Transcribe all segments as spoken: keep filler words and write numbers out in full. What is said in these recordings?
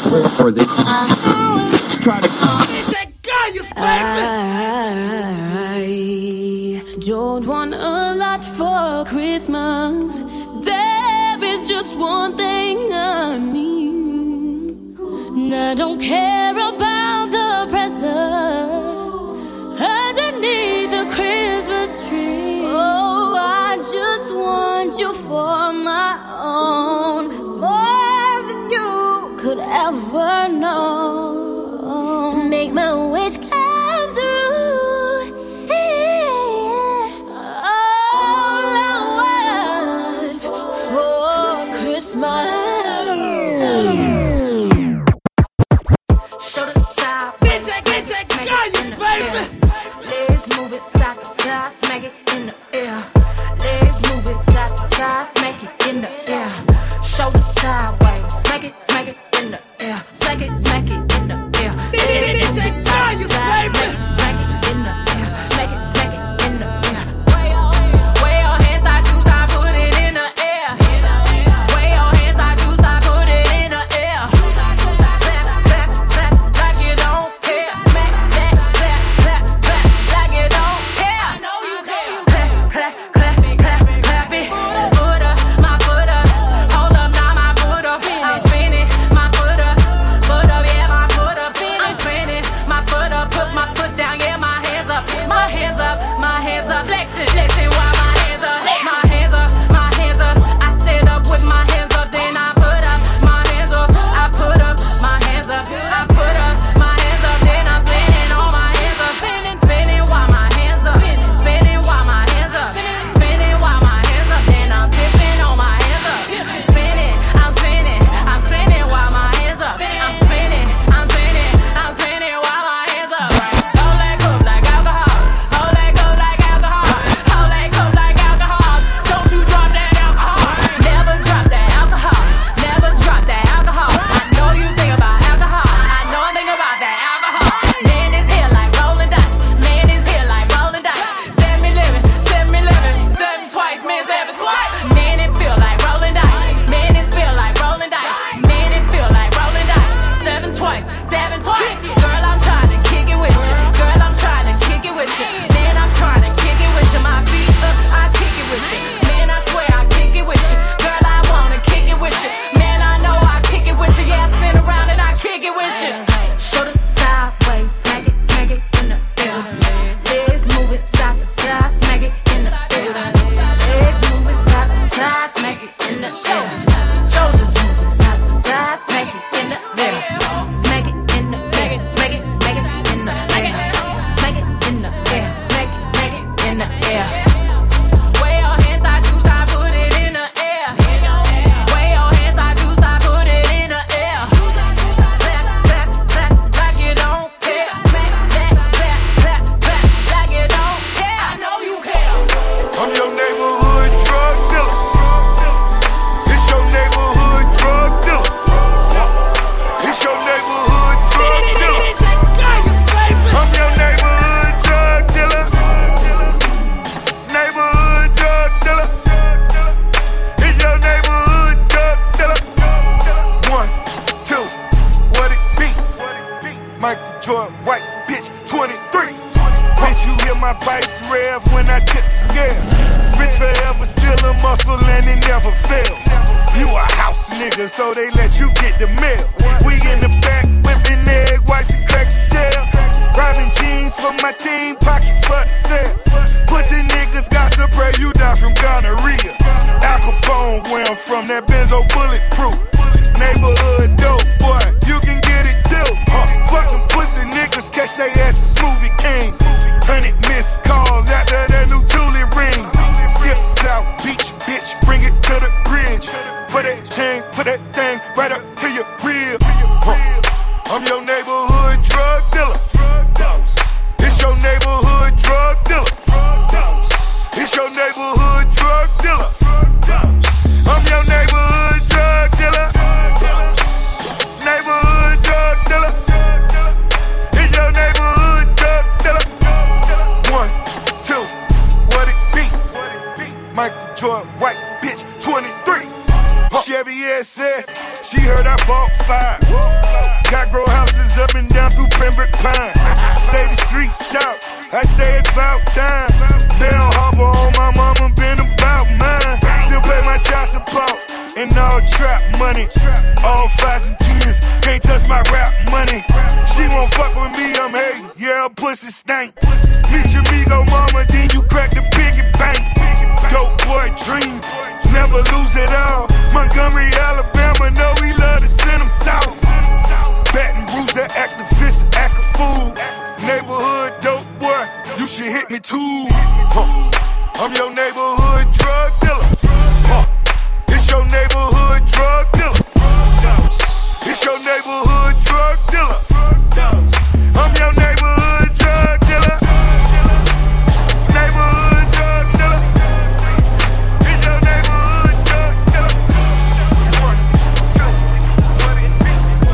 or they try to. I don't want a lot for Christmas. There is just one thing I need. And I don't care about the presents underneath the Christmas tree. Oh, I just want you for my own, more than you could ever know. Make my wish come true. Yeah. All I want for Christmas. Show the side, D J, D J, baby. Let's move it side to side, smack it in the air. Let's move it side to side, smack it in the air. Show the sideways, smack it, smack it in the air. Smack it, smack it in the air. Let's move it side to side, smack it, smack it in the air. Smack it, smack it in the air. Wave your hands, I do, I put it in the air. Wave your hands, I do, I put it in the air. Clap, clap, clap, like you don't care. Smack that, clap, clap, clap, like you don't care. I know you care. Clap, clap, clap, clap, clap it. Foot up, my foot up. Hold up, now my foot up. I'm spinning, my foot up. Foot up, yeah, my foot up. I'm spinning, my foot up. Put my foot down, yeah, my hands up. My hands up, my hands up. Flexing, flexing while my hands up. My hands up, my hands up. I stand up with my hands up, then I put up my hands up. I put up my hands up. I put up my hands up, then I'm spinning on my hands up. Spinning, spinning while my hands up. Spinning while my hands up. Spinning while my hands up, then I'm tipping on my hands up. Spinning, I'm spinning, I'm spinning while my hands up. I'm spinning, I'm spinning, I'm spinning while my hands up. Hold that cup like alcohol. Hold that cup like alcohol. Hold that cup like alcohol. Don't you drop that alcohol. Never drop that alcohol. Never drop that alcohol. I know you think about alcohol. I know I think about that alcohol. Man is here like rolling dice. Man is here like rolling dice. Seven eleven, seven eleven, seven twice, man seven twice. Man it feel like rolling dice. Man it feel like rolling dice. Man it feel like rolling dice. Seven twice, seven twice. Girl, I'm trying to kick it with you. Girl, I'm trying to kick it with you. Man, I'm trying to kick it with you. My feet up, I kick it with you. Man, I swear I kick it with you. Girl, I wanna kick it with you. Man, I know I kick it with you. Yeah, I spin around and I kick it with you. Shoulder sideways, smack it, smack it in the air. Legs move it side to side, smack it in the air. Legs move it side to side, smack it in the air. Shoulders move it side to side, smack it in the air. Smack it in the air, smack it, smack it in the air. Smack it in the air, smack it, smack it in the air. Wave your hands, I do, I put it in the air. Wave your hands, I do, I put it in the air. Clap, clap, clap, like you don't care. Smack that, clap, clap, clap, like you don't care. I know you care. I'm your neighborhood drug dealer. It's your neighborhood drug dealer. It's your neighborhood drug dealer. I'm your neighborhood drug dealer. Neighborhood drug dealer. It's your neighborhood drug dealer. One, two, what it be? Michael Jordan, white bitch, twenty-three. Bitch, you hear my pipes rev when I tip the scale. Bitch forever still a muscle and it never fails. You a house nigga, so they let you get the mail. We in the back whipping egg whites and crack the shell. Robbing jeans for my team, pocket for the sale. Pussy niggas got to pray you die from gonorrhea. Al Capone, where I'm from, that Benzo bulletproof. Neighborhood dope, boy, you can get it too. Huh. Fuck them pussy niggas, catch they asses, smoothie kings. Hundred missed calls after the new Thule rings. Skip South Beach, bitch, bring it to the bridge. For that chain, put that thing right up to your rib. Huh. I'm your neighborhood drug dealer. It's your neighborhood drug dealer. It's your neighborhood drug dealer. I'm your neighborhood drug dealer. Neighborhood drug dealer. It's your neighborhood drug dealer. One, two, what it be? Michael Jordan, white bitch, twenty-three. Chevy S S, she heard I bought five. my rap money. She won't fuck with me, I'm hating. Yeah, her pussy stank. Meet your amigo mama, then you crack the piggy bank. Dope boy dream, never lose it all. Montgomery, Alabama, know we love to send them south. Baton Rouge, that activist, act a fool. Neighborhood dope boy, you should hit me too. Huh. I'm your neighborhood drug dealer. Huh. It's your neighborhood drug dealer. It's your neighborhood drug dealer. I'm your neighborhood drug dealer. Neighborhood drug dealer. It's your neighborhood drug dealer. One, two, what it be?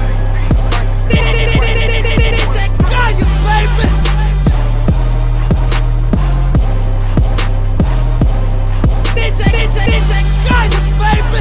Gaius, baby. D J, D J, D J Gaius, baby.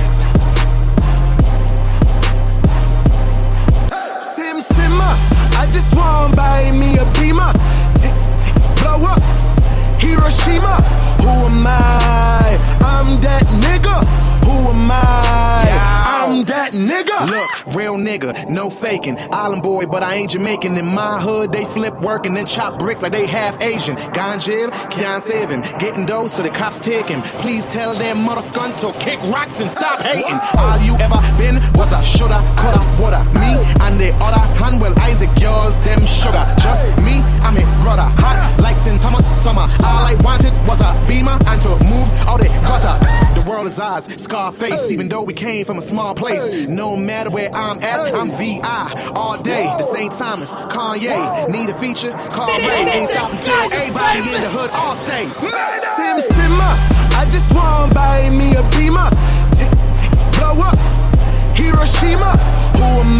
Sim Simmer, I just want buy me a Beamer. Tick, tick, blow up, Hiroshima. Who am I? I'm that nigga. Who am I? I'm that nigga. Look, real nigga, no faking. Island boy, but I ain't Jamaican. In my hood, they flip work and then chop bricks like they half Asian. Gone jail, can't save him. Getting those so the cops take him. Please tell them mother scunt to kick rocks and stop hating. All you ever been was a shoulda, coulda, woulda. Me and the other hand, well, Isaac, yours, them sugar. Just me, I'm a brother. Hot like Saint Thomas Summer. All I wanted was a Beamer and to move out the gutter. The world is ours, Scarface, even though we came from a small place. No matter where I'm at, I'm V I all day. The Saint Thomas, Kanye, need a feature? Call Ray, ain't stopping till everybody in the hood all say Sim Simmer, I just want buy me a Beamer. Tick, tick, blow up, Hiroshima. Who am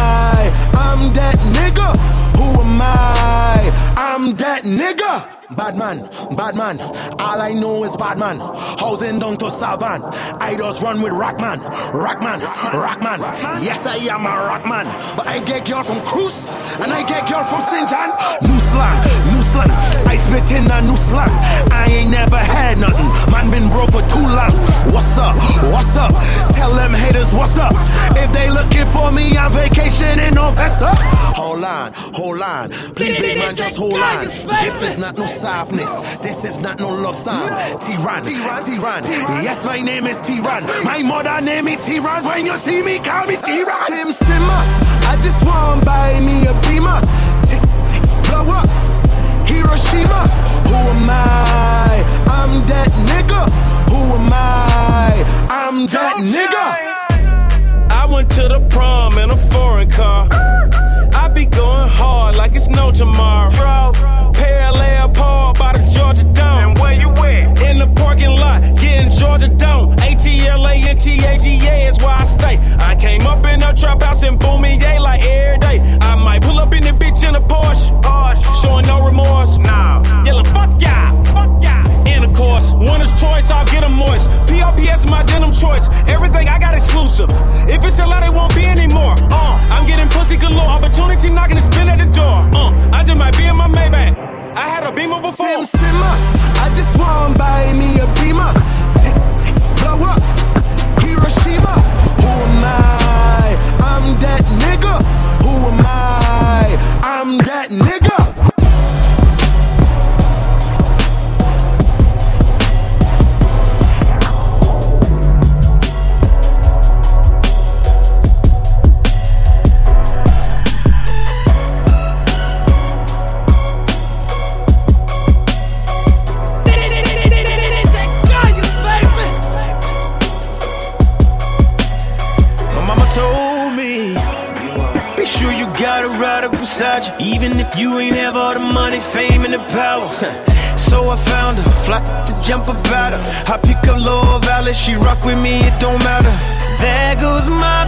I? I'm that nigga. Who am I? I'm that nigga. Bad man, bad man, all I know is bad man. Housing down to Savan, I just run with Rockman, Rockman, Rockman. Yes, I am a Rockman, but I get girl from Cruz, and I get girl from Saint John. New slang, new slang, I spit in a new slang. I ain't never had nothing, man been broke for too long. What's up, what's up, tell them haters what's up. If they looking for me on vacation in Novesta. Hold on, hold on, please big man just hold on. This is not no softness, this is not no love song. T-Ron, T-Ron, yes my name is T-Ron. My mother name me T-Ron, when you see me call me T-Ron. Sim Simmer, I just want buy me a Beamer. Tick, tick, blow up, Hiroshima. Who am I? I'm that nigga. Who am I? I'm that nigga. I went to the prom in a foreign car. I be going hard like it's no tomorrow. Parallel Paul by the Georgia Dome. And where you at? In the parking lot, getting Georgia Dome. A T L A N T A G A is where I stay. I came up in a trap house in Boomier like every day. I might pull up in the bitch in a Porsche, showing no remorse. Nah, yelling fuck y'all, fuck y'all. And of course, winner's choice, I'll get them moist. P R P S is my denim choice. Everything I got exclusive. If it's a lot, it won't be anymore. Uh, I'm getting pussy galore. Opportunity knocking the spin at the door. Uh, I just might be in my Maybach. I had a Beamer before. Sim Simmer, I just want buy me a Beamer. Tick, tick, blow up, Hiroshima. Who am I? I'm that nigga. Who am I? I'm that nigga. Beside you, even if you ain't have all the money, fame, and the power. So I found her, fly to jump about her. I pick up Lower Valley, she rock with me, it don't matter. There goes my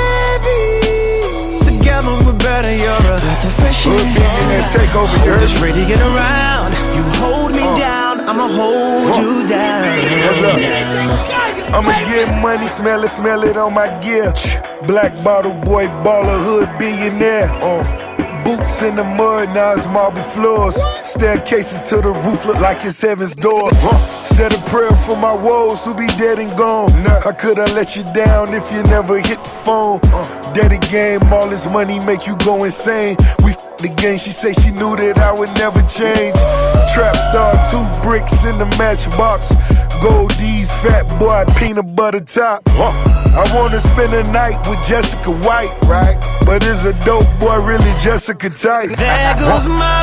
baby. Together we're better, you're a breath of fresh air. Take over, hold this ready to get around. You hold me uh. down, I'ma hold uh. you down. What's up? I'ma get money, smell it, smell it on my gear. Black bottle boy, baller, hood billionaire. Uh. boots in the mud, now it's marble floors. Staircases to the roof look like it's heaven's door. Huh. Said a prayer for my woes who be dead and gone. How could I let you down if you never hit the phone? Daddy game, all this money make you go insane. We f the game, she say she knew that I would never change. Trap star, two bricks in the matchbox. Goldie's fat boy, peanut butter top. Huh. I wanna spend a night with Jessica White, right? But is a dope boy really Jessica type? There goes my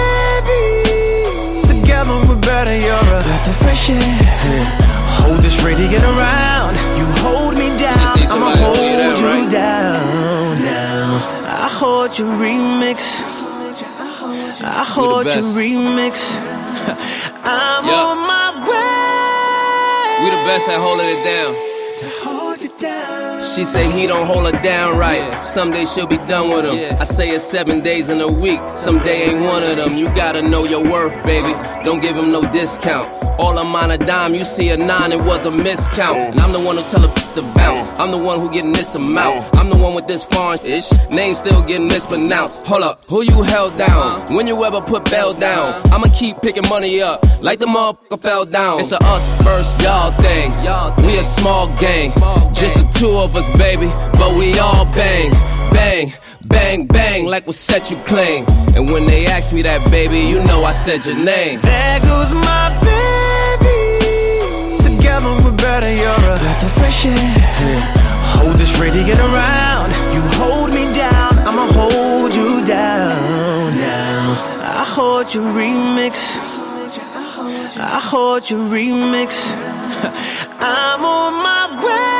baby. Together we're better, you're a breath of fresh air. Hold this ready, get around. You hold me down, I'ma hold that, you right? down. Now I hold your remix. I hold your remix. I'm yeah. on my way. We the best at holding it down. To hold you down. She say he don't hold her down right. Yeah. Someday she'll be done with him. Yeah. I say it's seven days in a week. Someday ain't one of them. You gotta know your worth, baby. Don't give him no discount. All I'm on a dime, you see a nine, it was a miscount. And I'm the one who tell her to bounce. I'm the one who getting this amount. I'm the one with this foreign-ish name still getting mispronounced. Hold up, who you held down? When you ever put Bell down? I'ma keep picking money up like the motherfucker fell down. It's a us versus y'all thing. We a small gang, just the two of us, baby. But we all bang, bang, bang, bang, like what set you clean. And when they ask me that, baby, you know I said your name. There goes my baby. Together we're better, you're a breath of fresh air. Yeah. Hold this ready, get around. You hold me down, I'ma hold you down. Now I hold your remix. I hold your remix. I'm on my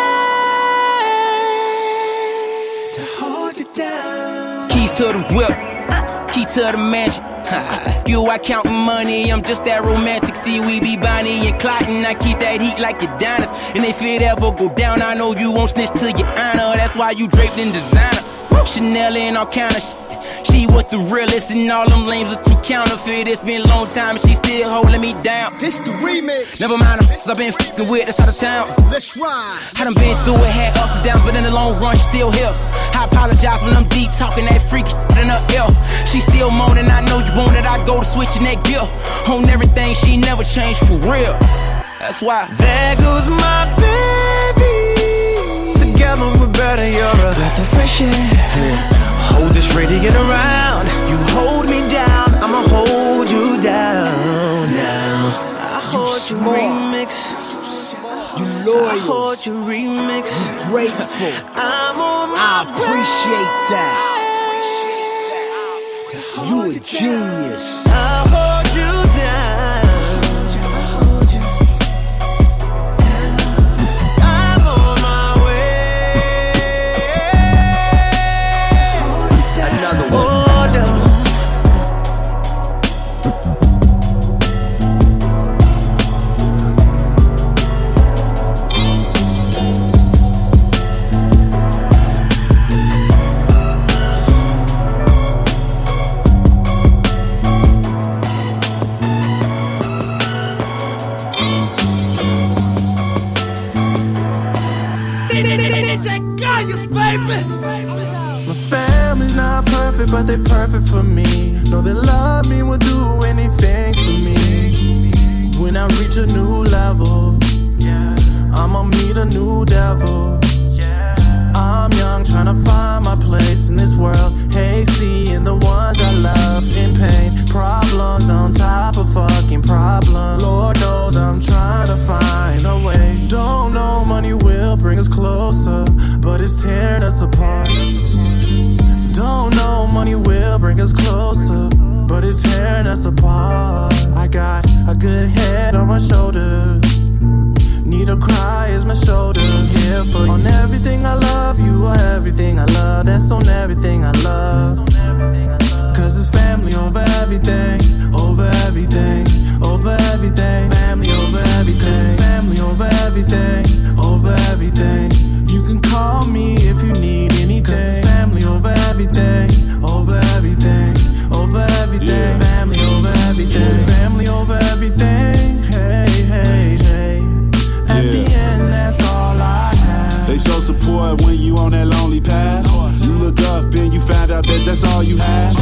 way to hold you down. Keys to the whip, key to the mansion. You, I countin' money, I'm just that romantic. See, we be Bonnie and Clyde, and I keep that heat like Adonis. And if it ever go down, I know you won't snitch to your honor. That's why you draped in designer, Chanel and all kind of shit. She was the realest, and all them lames are too counterfeit. It's been a long time, and she still holding me down. This the remix. Never mind them, I've been f***ing with, that's out of town. Let's ride. I done been through it, had ups and downs, but in the long run, she still here. I apologize when I'm deep talking that freak in her ear. She still moaning, I know you want it, I go to switching that gear. On everything, she never changed for real. That's why. There goes my baby. Together we're better, you're a breath of fresh air. Yeah. Hold this ready, get around. You hold me down, I'ma hold you down. Now I hold you your remix. You loyal. I hold your remix. You grateful. I'm on my I appreciate way. that. You a genius. I hold you down. But they perfect for me. Know they love me, will do anything for me. When I reach a new level, I'ma meet a new devil. I'm young, tryna find my place in this world. Hey, seeing the ones I love in pain. Problems on top of fucking problems. Lord knows I'm trying to find a way. Don't know money will bring us closer, but it's tearing us apart. Don't know money will bring us closer, but it's tearing us apart. I got a good head on my shoulders. Need to cry is my shoulder. Here for you. On everything I love, you are everything I love. That's on everything I love. Cause it's family over everything. Over everything. Over everything. Family over everything. Family over everything. Over everything. You can call me if you need anything. Family over everything. Over everything. Over everything. Yeah. Family over everything. Yeah. Family over everything. Hey, hey, hey. At yeah. the end, that's all I have. They show support when you on that lonely path. You look up and you find out that that's all you have.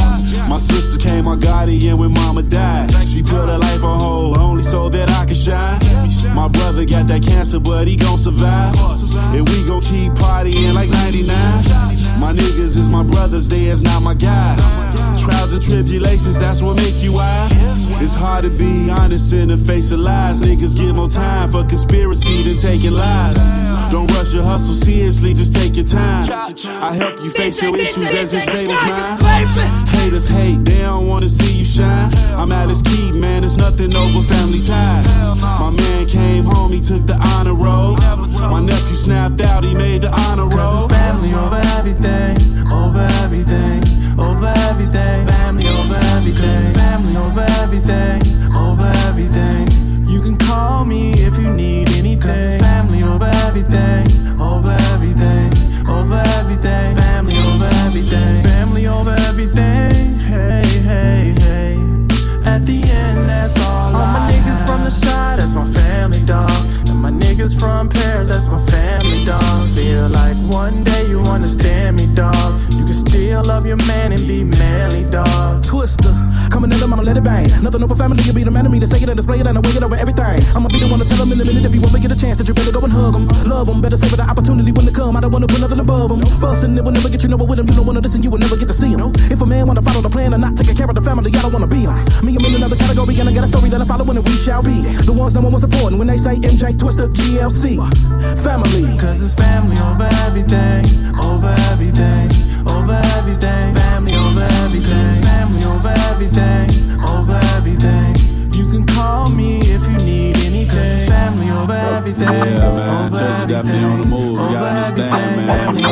My sister came my guardian when mama died. She put her life on hold, only so that I could shine. My brother got that cancer, but he gon' survive. And we gon' keep partying like ninety-nine. My niggas is my brothers, they is not my guys. Trials and tribulations, that's what make you wise. It's hard to be honest in the face of lies. Niggas get more time for conspiracy than taking lives. Don't rush your hustle seriously, just take your time. I help you face your issues as if they was mine. Haters hate, they don't wanna see you shine. I'm Alice Keaton, man, there's nothing over family ties. My man came home, he took the honor roll. My nephew snapped out, he made the honor roll. Cause it's family over everything, over everything, over everything. Family over everything, family over everything, over everything. You can call me if you need anything. Cause it's family over everything, over everything, over everything. Family over everything, family over everything. Hey, hey, hey. At the end, that's all. All my niggas from the side, that's my family, dog. And my niggas from Paris, that's my family, dog. Feel like one day you understand me, dog. You can still love your man and be manly, dog. Twister, coming at them, I'ma let it bang. Nothing over family, you be the man of me to say it and display it and I wake it over everything. I'ma be the one to tell them in a minute if you ever get a chance that you better go and hug them. Love them, better save the opportunity when it come. I don't wanna put nothing above them. Fussing, it will never get you nowhere with them. You don't wanna listen, you will never get to see them. If a man wanna follow the plan and not take care of the family, I don't wanna be them. Me, I'm in another category and I got a story that I follow and we shall be the ones no one was supporting when they say M J, Twister, G L C. Family. Cause it's family over everything, over everything, over everything. Family over everything, family over everything, over everything. You can call me if you need anything. Family over everything. Yeah, man, church got me on the move. You gotta understand, man. Family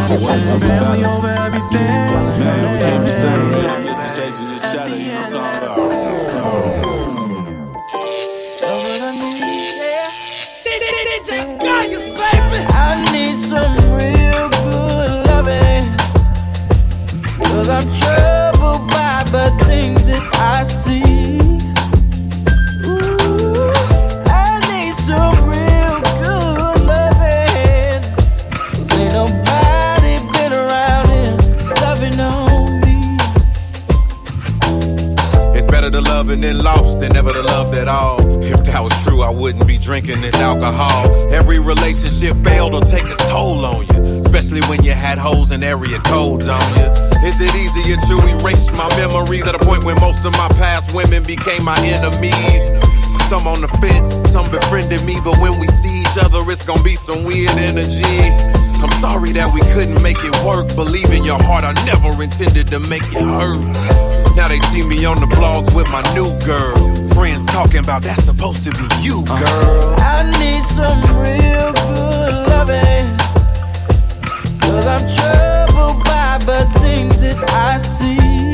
over everything. Man, we can't be separated. I'm just chasing this shadow, you know what I'm talking about. I need some real good loving. Cause I'm troubled by the things that I see. Ooh, I need some real good loving. Ain't nobody been around here loving on me. It's better to love and then lost than never to love at all. If that was true, I wouldn't be drinking this alcohol. Every relationship failed or take a toll on you, especially when you had hoes and area codes on you. Is it easier to erase my memories at a point when most of my past women became my enemies? Some on the fence, some befriended me, but when we see each other, it's gonna be some weird energy. I'm sorry that we couldn't make it work. Believe in your heart, I never intended to make it hurt. Now they see me on the blogs with my new girl. Friends talking about that's supposed to be you, girl. I need some real good loving. Cause I'm troubled by the things that I see.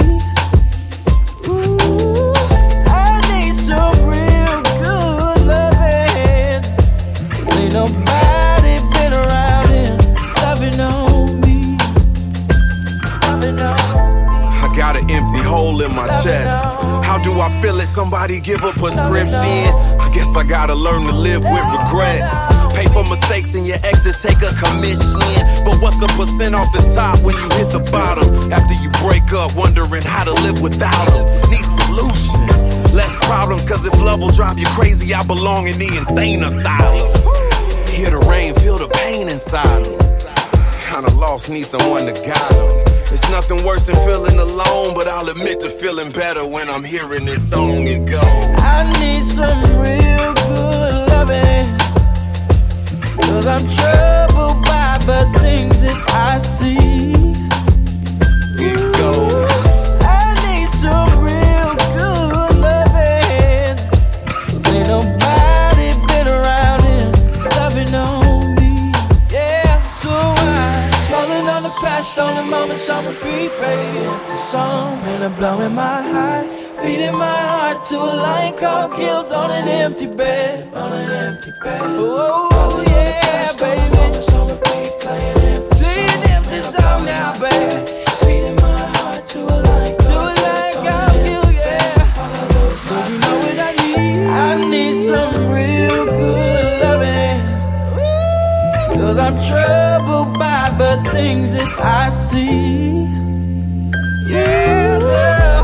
Ooh, I need some real good loving. Ain't nobody been around here loving on me. Loving on me. I got an empty hole in my chest. How do I feel it? Somebody give a prescription. I guess I gotta learn to live with regrets. Pay for mistakes and your exes take a commission. But what's a percent off the top when you hit the bottom? After you break up, wondering how to live without them. Need solutions, less problems. Cause if love will drive you crazy, I belong in the insane asylum. Hear the rain, feel the pain inside them. Kinda lost, need someone to guide them. It's nothing worse than feeling alone, but I'll admit to feeling better when I'm hearing this song. It goes, I need some real good loving. Cause I'm troubled by the things that I see. It goes, I need some real good loving. Ain't nobody been around here loving on me. Yeah, so I'm falling on the past, on the moments on repeat, playing empty song, and I'm blowing my high, feeding my heart to a lion called killed on an empty bed, on an empty bed. Oh yeah, baby, on repeat, playing empty, playing empty song now, baby. Feeding my heart to a lion called killed, yeah. So you know what I need? I need some real good loving. Cause I'm troubled by the things that I see. Yeah, love.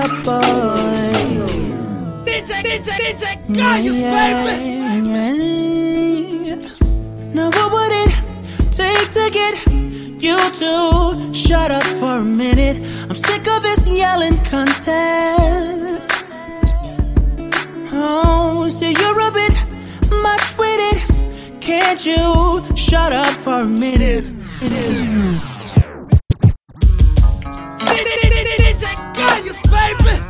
bad boy. D J, D J, D J, Gaius, yeah, baby. Yeah. Now what would it take to get you to shut up for a minute? I'm sick of this yelling contest. Oh, say you're a bit much with it. Can't you shut up for a minute? D J Gaius, baby.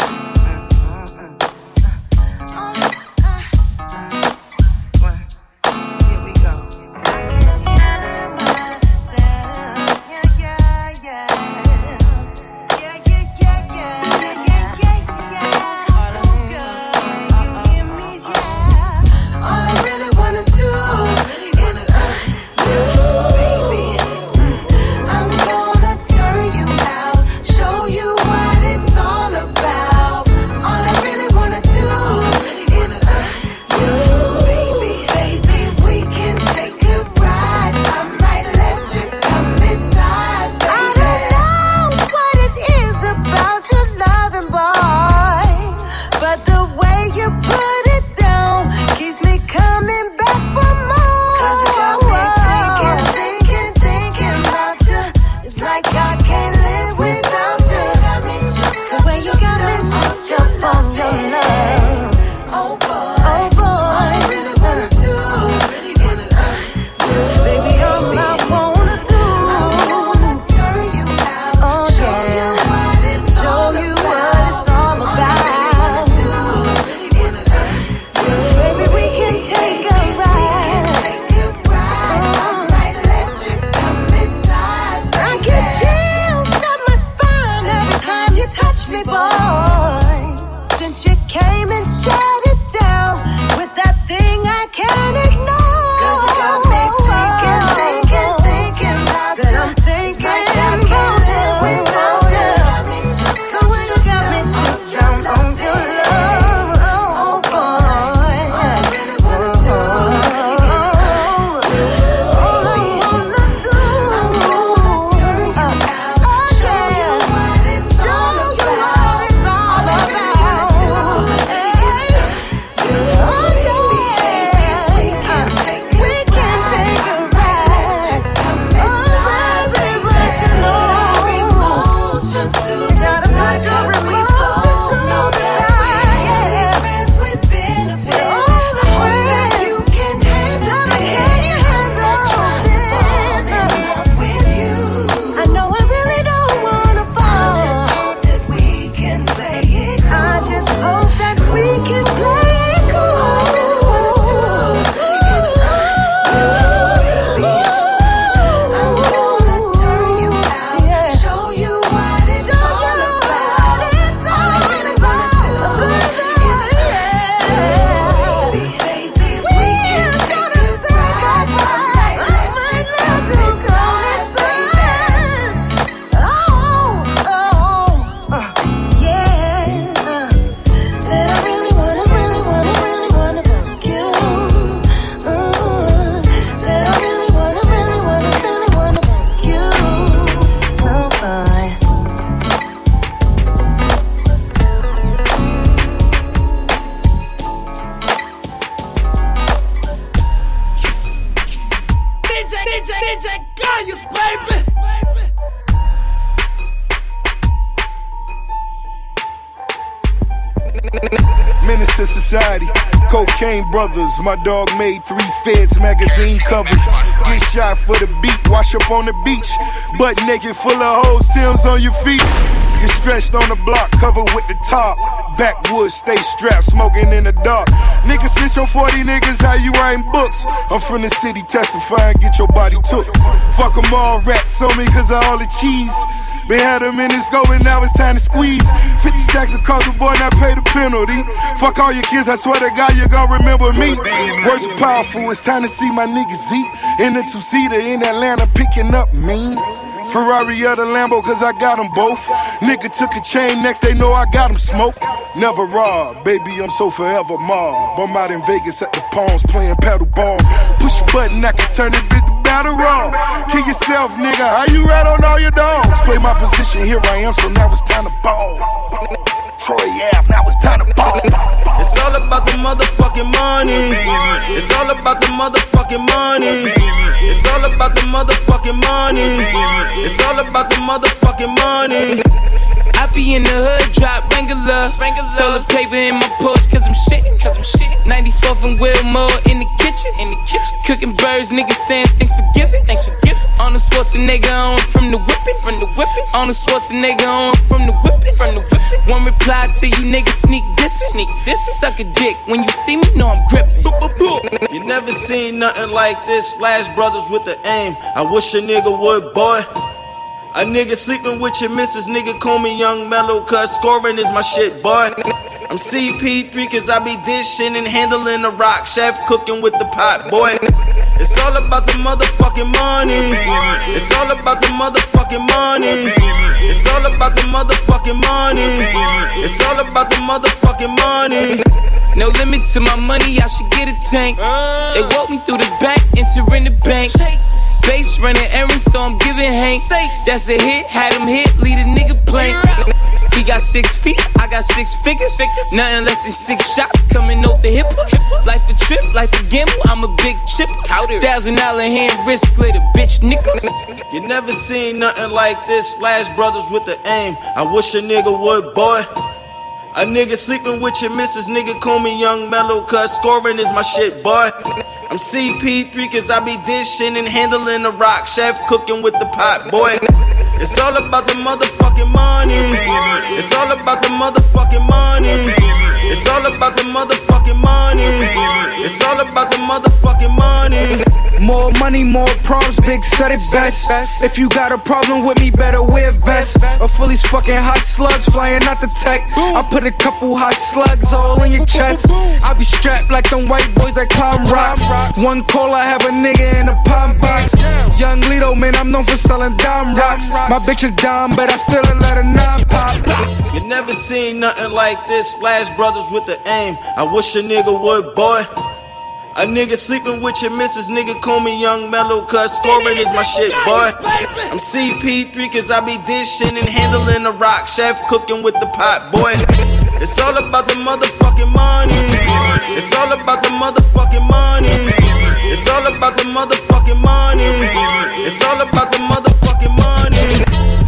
Menace to society, cocaine brothers. My dog made three Feds magazine covers. Get shot for the beat, wash up on the beach. Butt naked, full of hoes, Tim's on your feet. Get stretched on the block, covered with the top. Backwoods, stay strapped, smoking in the dark. Niggas snitch on forty niggas, how you writing books? I'm from the city, testifying, get your body took. Fuck them all, rats on me cause of all the cheese. Been had them in the scope and now it's time to squeeze. Fifty stacks of coke, the boy not pay the penalty. Fuck all your kids, I swear to God you gon' remember me. Words are powerful, it's time to see my niggas eat. In the two-seater in Atlanta, picking up mean. Ferrari or the Lambo, cause I got them both. Nigga took a chain, next they know I got them smoked. Never robbed, baby, I'm so forever mob. I'm out in Vegas at the Palms playing paddle ball. Push a button, I can turn it bitch to down the road. Kill yourself, nigga. How you rat on all your dogs? Play my position, here I am, so now it's time to ball. Troy Ave, now it's time to ball. It's all about the motherfucking money. It's all about the motherfucking money. It's all about the motherfucking money. It's all about the motherfucking money. I be in the hood, drop Wrangler, Wrangler. Toilet paper in my Porsche, cause I'm shitting, cause I'm shitting. ninety-fourth and Wilmore in the kitchen, in the kitchen. Cooking birds, niggas saying thanks for giving, thanks for giving. On the Schwarzenegger, on from the whipping, from the whipping. On the Schwarzenegger, on from the whipping, from the whipping. One reply to you niggas, sneak this, sneak this. Suck a dick, when you see me, know I'm gripping. You never seen nothing like this. Splash Brothers with the aim. I wish a nigga would, boy. A nigga sleeping with your missus, nigga call me Young Mellow, cause scoring is my shit, boy. I'm C P three cause I be dishing and handling the rock, chef cooking with the pot, boy. It's all about the motherfucking money. It's all about the motherfucking money. It's all about the motherfucking money. It's all about the motherfucking money. No limit to my money, I should get a tank. They walk me through the back, entering the bank. Base running errands, so I'm giving Hank. That's a hit, had him hit, lead a nigga blank. He got six feet, I got six figures. Nothing less than six shots coming off the hip. Life a trip, life a gamble, I'm a big chip. Thousand dollar hand wrist glitter, bitch nickel. You never seen nothing like this. Splash Brothers with the aim. I wish a nigga would, boy. A nigga sleeping with your missus, nigga call me Young Mellow, cause scoring is my shit, boy. I'm C P three cause I be dishing and handling the rock, chef cooking with the pot, boy. It's all about the motherfucking money. It's all about the motherfucking money. It's all about the motherfucking money. It's all about the motherfucking money. More money, more problems, big said it best. If you got a problem with me, better wear vest. Or full these fucking hot slugs flying out the tech. I put a couple hot slugs all in your chest. I be strapped like them white boys that climb rocks. One call, I have a nigga in a palm box. Young Lito, man, I'm known for selling dime rocks. My bitch is dumb, but I still let her non pop. You never seen nothing like this. Splash Brothers with the aim. I wish a nigga would, boy. A nigga sleeping with your missus, nigga call me Young Mellow, cause scoring is my shit, boy. I'm C P three cause I be dishing and handling the rock, chef cooking with the pot, boy. It's all about the motherfucking money. It's all about the motherfucking money. It's all about the motherfucking money. It's all about the motherfucking money.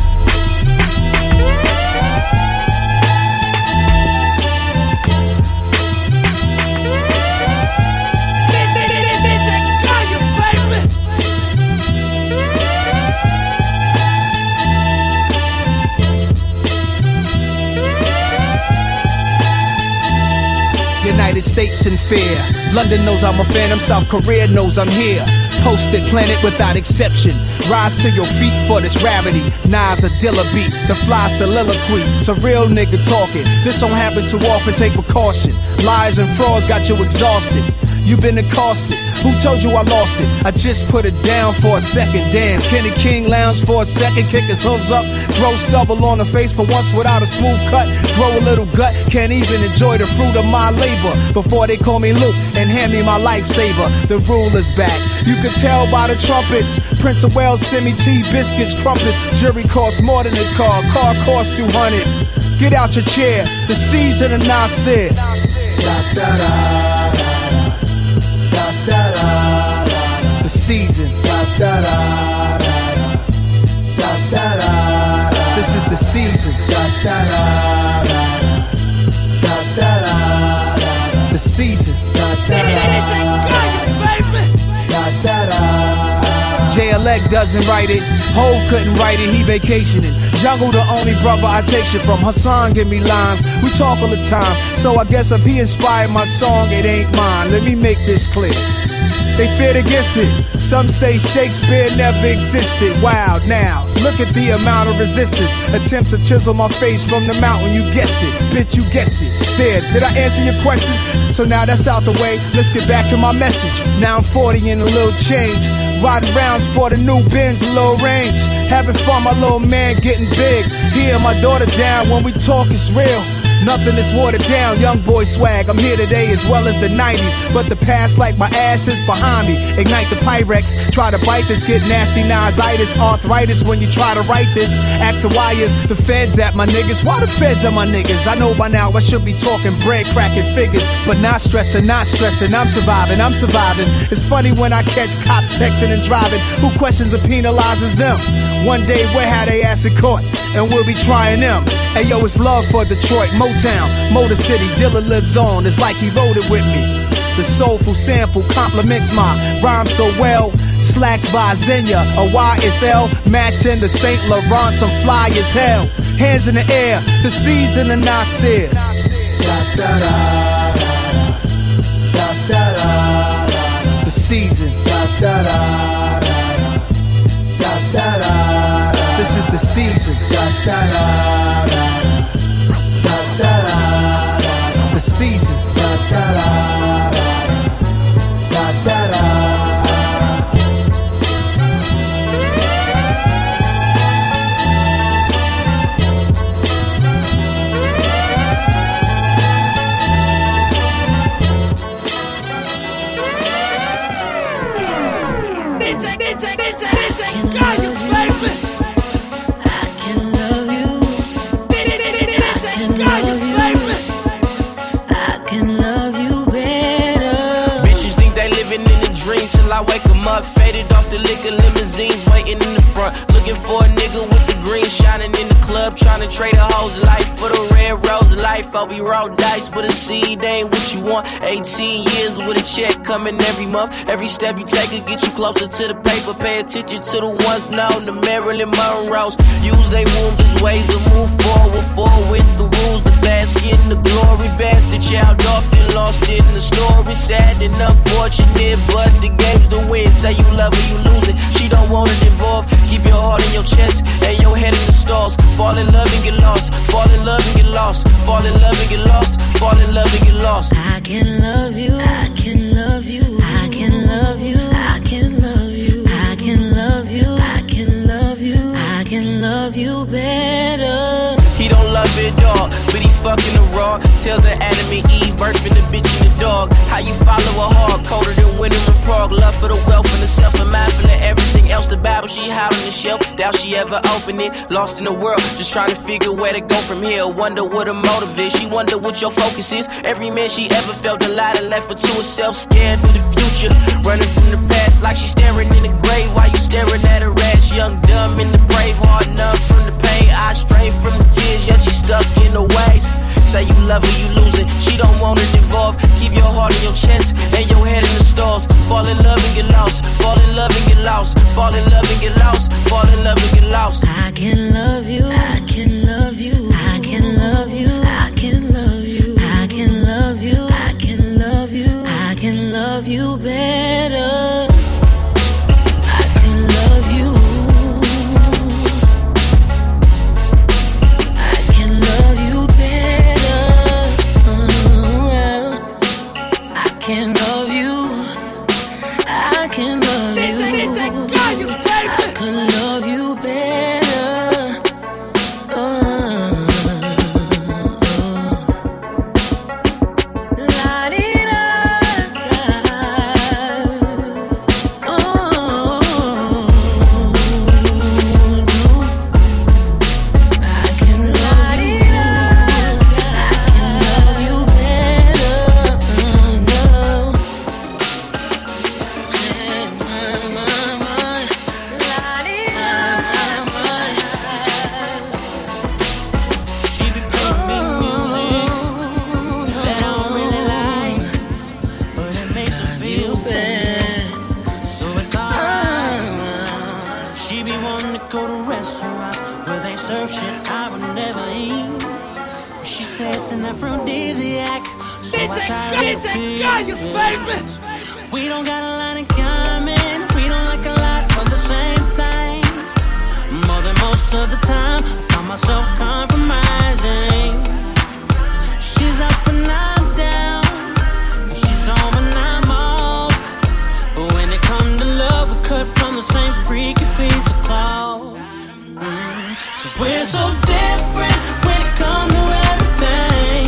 United States in fear. London knows I'm a phantom, South Korea knows I'm here. Posted planet without exception. Rise to your feet for this rarity. Nas a Dilla beat, the fly soliloquy. It's a real nigga talking. This don't happen too often, take precaution. Lies and frauds got you exhausted. You been accosted. Who told you I lost it? I just put it down for a second. Damn, Kenny King lounge for a second, kick his hooves up, grow stubble on the face for once without a smooth cut. Grow a little gut, can't even enjoy the fruit of my labor. Before they call me Luke and hand me my lifesaver, the rule is back. You can tell by the trumpets. Prince of Wales send me tea, biscuits, crumpets. Jury costs more than a car, car costs two hundred. Get out your chair, the season of Nasir. Da da da. The season. This is the season. The season. J L X doesn't write it, Hov couldn't write it, he vacationing. Jungle the only brother I take shit from. Hassan give me lines, we talk all the time. So I guess if he inspired my song, it ain't mine. Let me make this clear. They fear the gifted. Some say Shakespeare never existed. Wow, now, look at the amount of resistance. Attempt to chisel my face from the mountain, you guessed it. Bitch, you guessed it. There, did I answer your questions? So now that's out the way, let's get back to my message. Now I'm forty and a little change. Riding round, sport a new Benz, a little range. Having fun, my little man getting big. Here, my daughter down, when we talk it's real. Nothing is watered down, young boy swag. I'm here today as well as the nineties, but the past like my ass is behind me. Ignite the Pyrex, try to bite this, get nasty nositis, arthritis when you try to write this. Asking why is the feds at my niggas? Why the feds at my niggas? I know by now I should be talking bread, cracking figures, but not stressing, not stressing. I'm surviving, I'm surviving. It's funny when I catch cops texting and driving. Who questions and penalizes them? One day we'll have they ass in court, and we'll be trying them. Hey yo, it's love for Detroit, Motown, Motor City. Dilla lives on, it's like he wrote it with me. The soulful sample complements my rhyme so well. Slacks by Xenia, a Y S L, matching the Saint Laurent. I'm fly as hell. Hands in the air, the season of Nasir. The season. This is the season. The season. I wake 'em up, faded off the liquor, limousines waiting in the front. Looking for a nigga with the green shining in the club, trying to trade a hoe's life for the red rose life. I'll be roll dice, but a seed ain't what you want. eighteen years with a check coming every month. Every step you take will get you closer to the paper. Pay attention to the ones known, the Marilyn Monroes. Use they wounds as ways to move forward, forward with the rules. The basket in the glory, bastard child often lost in the story. Sad and unfortunate, but the game's the win. Say you love her, you lose it. She don't want it involved. Keep your heart in your chest and your head in the stars. Fall in love and get lost. Fall in love and get lost. Fall in love and get lost. Fall in love and get lost. I can love you. I can love you. I can love you. I can love you. I can love you. I can love you. I can love you better. He don't love it, dog, but he fucking the raw. Tells her Adam and Eve, birthing the bitch and the dog. How you follow a hard, colder than winter in Prague. Love for the wealth and the self and mindful of everything else. The Bible she hide on the shelf, doubt she ever opened it. Lost in the world, just trying to figure where to go from here. Wonder what her motive is, she wonder what your focus is. Every man she ever felt alive and left her to herself, scared of the future. Running from the past like she staring in the grave while you staring at her ass. Young, dumb, and the brave, hard numb from the pain. Eyes straight from the tears, yet she stuck in the ways. Say you love her, you lose it. She don't want it involved. Keep your heart in your chest and your head in the stars. Fall in love and get lost. Fall in love and get lost. Fall in love and get lost. Fall in love and get lost. I can love you. I can love you. I can love you. I can love you. I can love you. I can love you. I can love you better. I can love you. I can love you better. I can love you. I can love you. I can love you better. Uh, la di da da. Oh, I can love you. I can love you better. No. She be wanting to go to restaurants where they serve shit I would never eat. But she says it's an aphrodisiac, so I try to repeat. We don't got a lot in common. We don't like a lot of the same things. More than most of the time, I find myself compromising. She's up and I'm down. She's home and I'm off. But when it comes to love, we're cut from the same freaky piece of cloth. Mm. So we're so different when it comes to everything.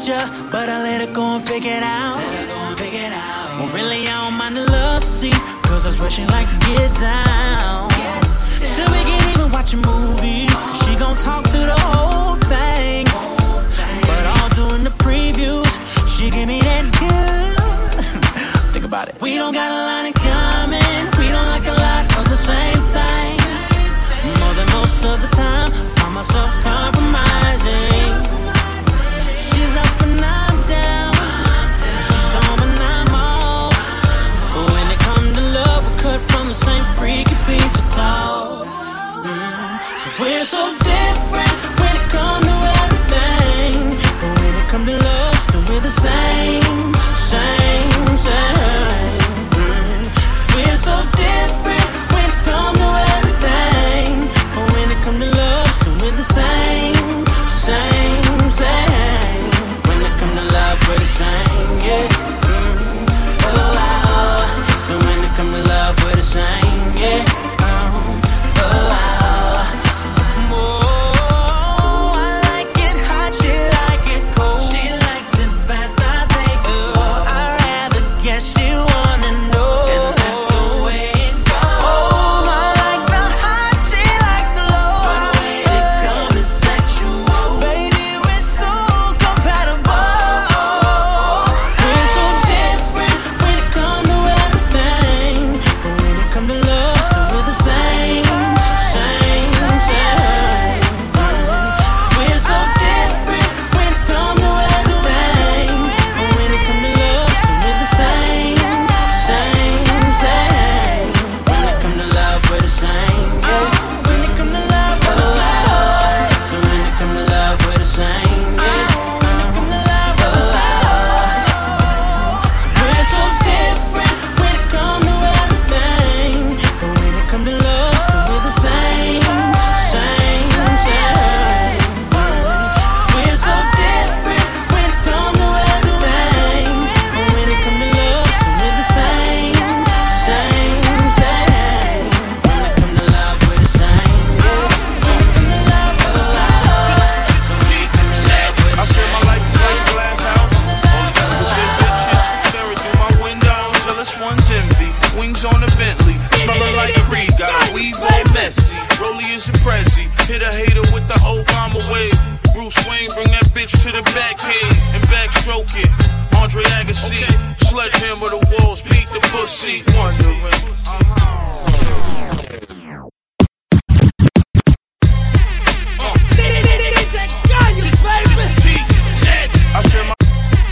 ya, but I let her go and pick it out. Well, really, I don't mind the love seat, cause that's where she like to get down. So we can even watch a movie, cause she gon' talk through the whole thing. But all during the previews, she give me that good. Think about it. We don't got a lot in common, we don't like a lot of the same thing. More than most of the time, I find myself compromising. She's up and I'm down, she's on and I'm off. But when it comes to love, we're cut from the same freaky piece of cloth. Mm. So we're so different when it comes to everything. But when it comes to love, so we're the same, same, same. Mm. So we're so different when it comes to everything. But when it comes to love, so we're the same, same, same. When it comes to love, we're the same, yeah. Mm. Oh, wow. So when it comes to love, we're the same, yeah. Oh, oh, wow. Oh, I like it hot, she like it cold. She likes it fast, I think it's slow. I'd rather guess she wanna know, and that's the way it goes. Oh, I like the hot, she like the low. But when it comes to sexual, baby, we're so compatible. We're so different when it comes to everything. But when it comes to love, so we're the same, same, same. We're so different when it comes to everything. But when it comes to love, so we're the same, same, same. When it comes to love, we're the same, yeah. When it comes to love, we're the same. So when it comes to love, we're the same, yeah. When it comes to love, we're the same. So we're so different when it comes to everything. But when it comes to love, so we're the same, same, same. We're so different when it comes to everything. But when it comes to love, so we're the same, same, same. When it comes to love, we're the same, yeah. When it comes to love, we're the same. So when it comes to love, we're I the said my same. life is like a glass house. All these niggas and bitches staring through my window. Jealous ones envy. Wings on a Bentley. Smelling like Creed. Got a weave all messy. Rollie is a Prezi. Hit a hater with the Obama wave. Bruce Wayne bring that bitch to the back head and backstroke it. Andre Agassi. Sledgehammer the walls. Beat the pussy. Wondering. I said my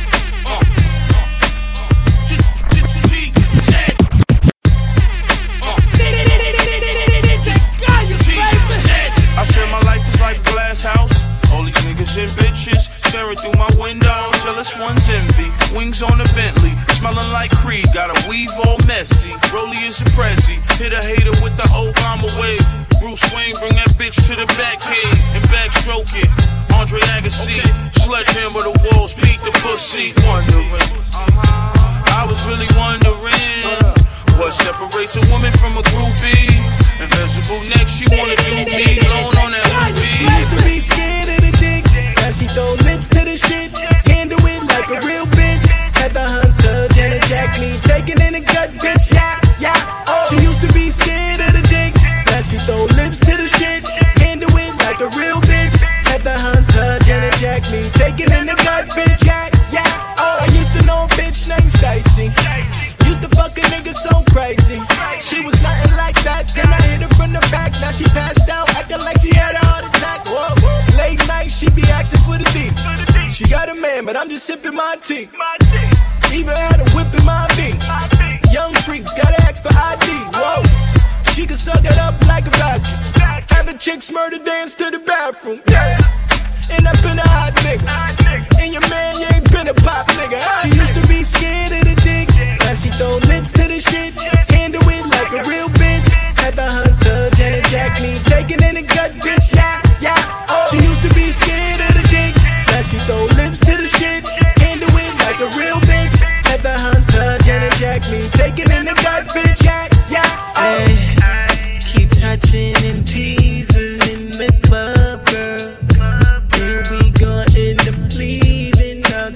I said my life is like a glass house. All these niggas and bitches staring through my window. Jealous ones envy. Wings on a Bentley. Smelling like Creed. Got a weave all messy. Rollie is a Prezi. Hit a hater with the Obama wave. Bruce Wayne bring that bitch to the back head and backstroke it. Andre Agassi. Sledgehammer the walls. Beat the pussy. Wondering. I was really wondering what separates a woman from a groupie. Invisible neck, she wanna do me. Alone on that movie. She used to be scared of the dick. Now she throw lips to the shit. Handle it like a real bitch. Heather Hunter, Janet Jack me. Taking in the gut, bitch. Yeah, yeah. Oh. She used to be scared of the dick. Now she throw lips to the shit. Handle it like a real bitch. Heather Hunter, Janet Jack me. Taking in the gut, bitch. Yeah, yeah. Oh, I used to know a bitch named Stacy. Used to fuck a nigga so crazy. She was nothing like that. Then I hit her from the back. Now she passed out, acting like she had a heart attack. Whoa. Late night, she be asking for the D. She got a man, but I'm just sipping my tea. Even had a whip in my beat. Young freaks gotta ask for I D. Whoa. She can suck it up like a vacuum. Having chicks murder dance to the bathroom. Yeah. End up in a hot nigga. And your man, you ain't been a pop nigga. She used to be scared of the dick. Now she throw lips to the shit. Handle it like a real bitch. Heather Hunter, Janet Jack me. Taking in the gut, bitch. Yeah, yeah. Oh. She used to be scared of the dick. Now she throw lips to the shit. Handle it like a real bitch. Heather Hunter, Janet Jack me. Taking in the gut, bitch. Yeah, yeah. Oh. Ay, keep touching and teasing in the club, girl. Here we gon' end up leaving. Now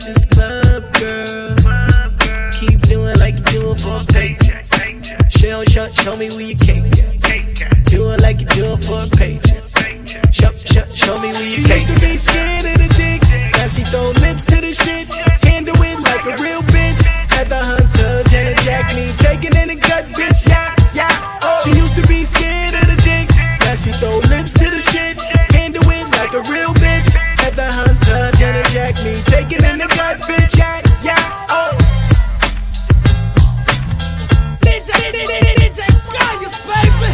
show me where your cake at. Do it like you do it for a paycheck. Show, show, show me where your cake at. She used to be scared of the dick, now she throw lips to the shit. Handle it like a real bitch. Heather Hunter, Janet Jack me, taking in the gut, bitch. Yeah, yeah. Oh. She used to be scared of the dick, now she throw lips to the shit. Handle it like a real bitch. Heather Hunter, Janet Jack me, taking in the gut, bitch. Yeah, yeah. Oh. D J, D J, D J, Gaius, baby.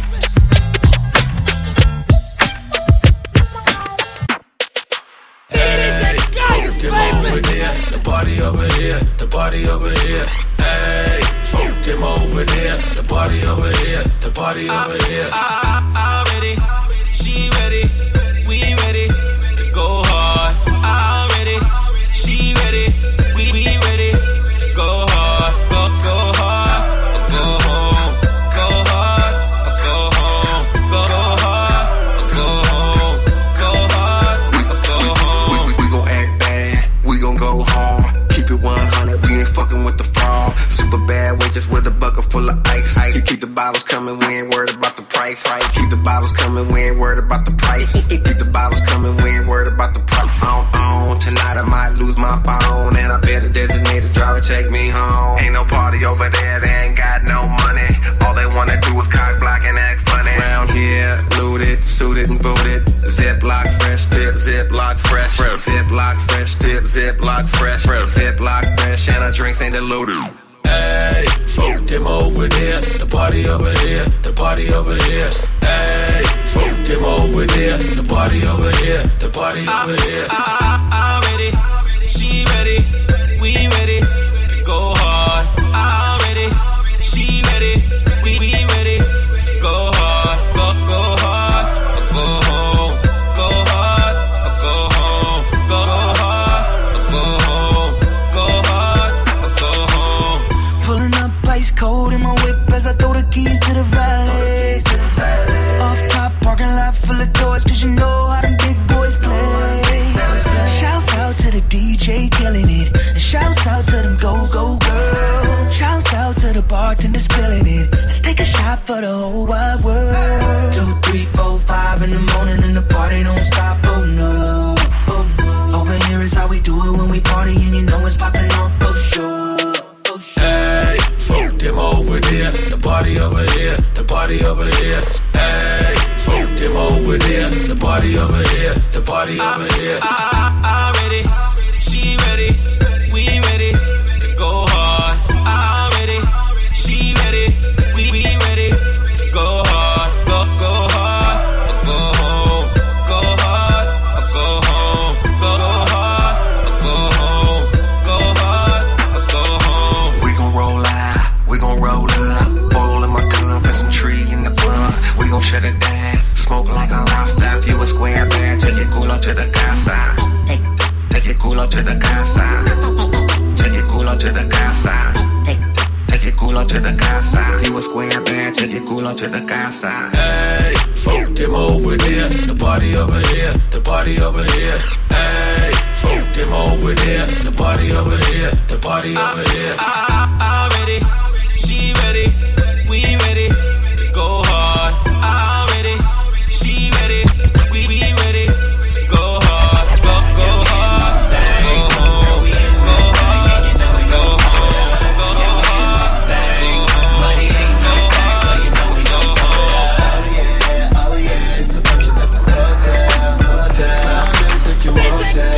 Them over there, the party over here, the party over here. Hey, folk them over there, the party over here, the party over here. I, I, I'm ready, she ready, we ready to go hard. I'm ready, she ready, we, we ready to go hard. Go, go hard, or go home. Go hard, or go home. Go, go hard, or go home. Go hard, or go home. We, we, we gon' act bad, we gon' go hard. Keep it one hundred, we ain't fucking with the fraud. Super bad, we just with a bucket full of ice. Keep, keep the bottles coming, we ain't worried about the price. Keep the bottles coming, we ain't worried about the price. Keep the bottles coming, we ain't worried about the price. On, on, tonight I might lose my phone, and I better designate a driver, take me home. Ain't no party over there, they ain't got no money. All they wanna do is cock block and act funny. Round here, looted, suited and booted. Ziploc fresh tip, Ziploc fresh. Ziploc fresh tip, Ziploc fresh. Ziploc fresh, and our drinks ain't diluted. Hey, folk them over there, the party over here, the party over here. Hey, folk them over there, the party over here, the party over here. I, I, I'm ready, she ready, we ready to go hard. I'm ready, she ready, we, we ready to go hard. Go, go hard, or go home. Go hard, or go home. Go hard, or go home. Go hard, or go home. Pulling up ice cold in my whip as I throw the keys to the valet. Off top parking lot full of doors, cause you know how them big boys play. Shouts out to the D J killing it, and shouts out to them go-go girls. Shouts out to the bartender spilling it. Let's take a shot for the whole wide world. Two, three, four, five in the morning and the party don't stop, oh no, oh no. Over here is how we do it when we party, and you know it's popping off, oh sure. Hey, folk them over there, the party over here, the party over here. Hey, folk them over there, the party over here, the party over here. I, I, I'm ready, she ready, we ready to go hard. I'm ready, she ready, we, we ready to go hard. Go, go hard, or go home. Go hard, or go home. Go, go hard, or go home. Go hard, or go home. We gon' roll out, we gon' roll up. Bowl in my cup and some tree in the blunt. We gon' shut it down, smoke like a rasta. If you a square bad, take your culo to the casa. Take, take your culo to the casa. Take your culo to the casa. Take, take your culo to the casa. If you a square bad, take your culo to the casa. Hey, folk them over there, the party over here, the party over here. Hey, folk them over there, the party over here, the party over here. I, I, I'm ready, she ready, we ready to go hard. I'm ready, she ready, we, we ready to go hard. Go, go hard, go home, go hard, go home, go hard, go home. Money ain't no hard, so you know we go home. Oh yeah, oh yeah, it's a function at the hotel, hotel. This is your hotel,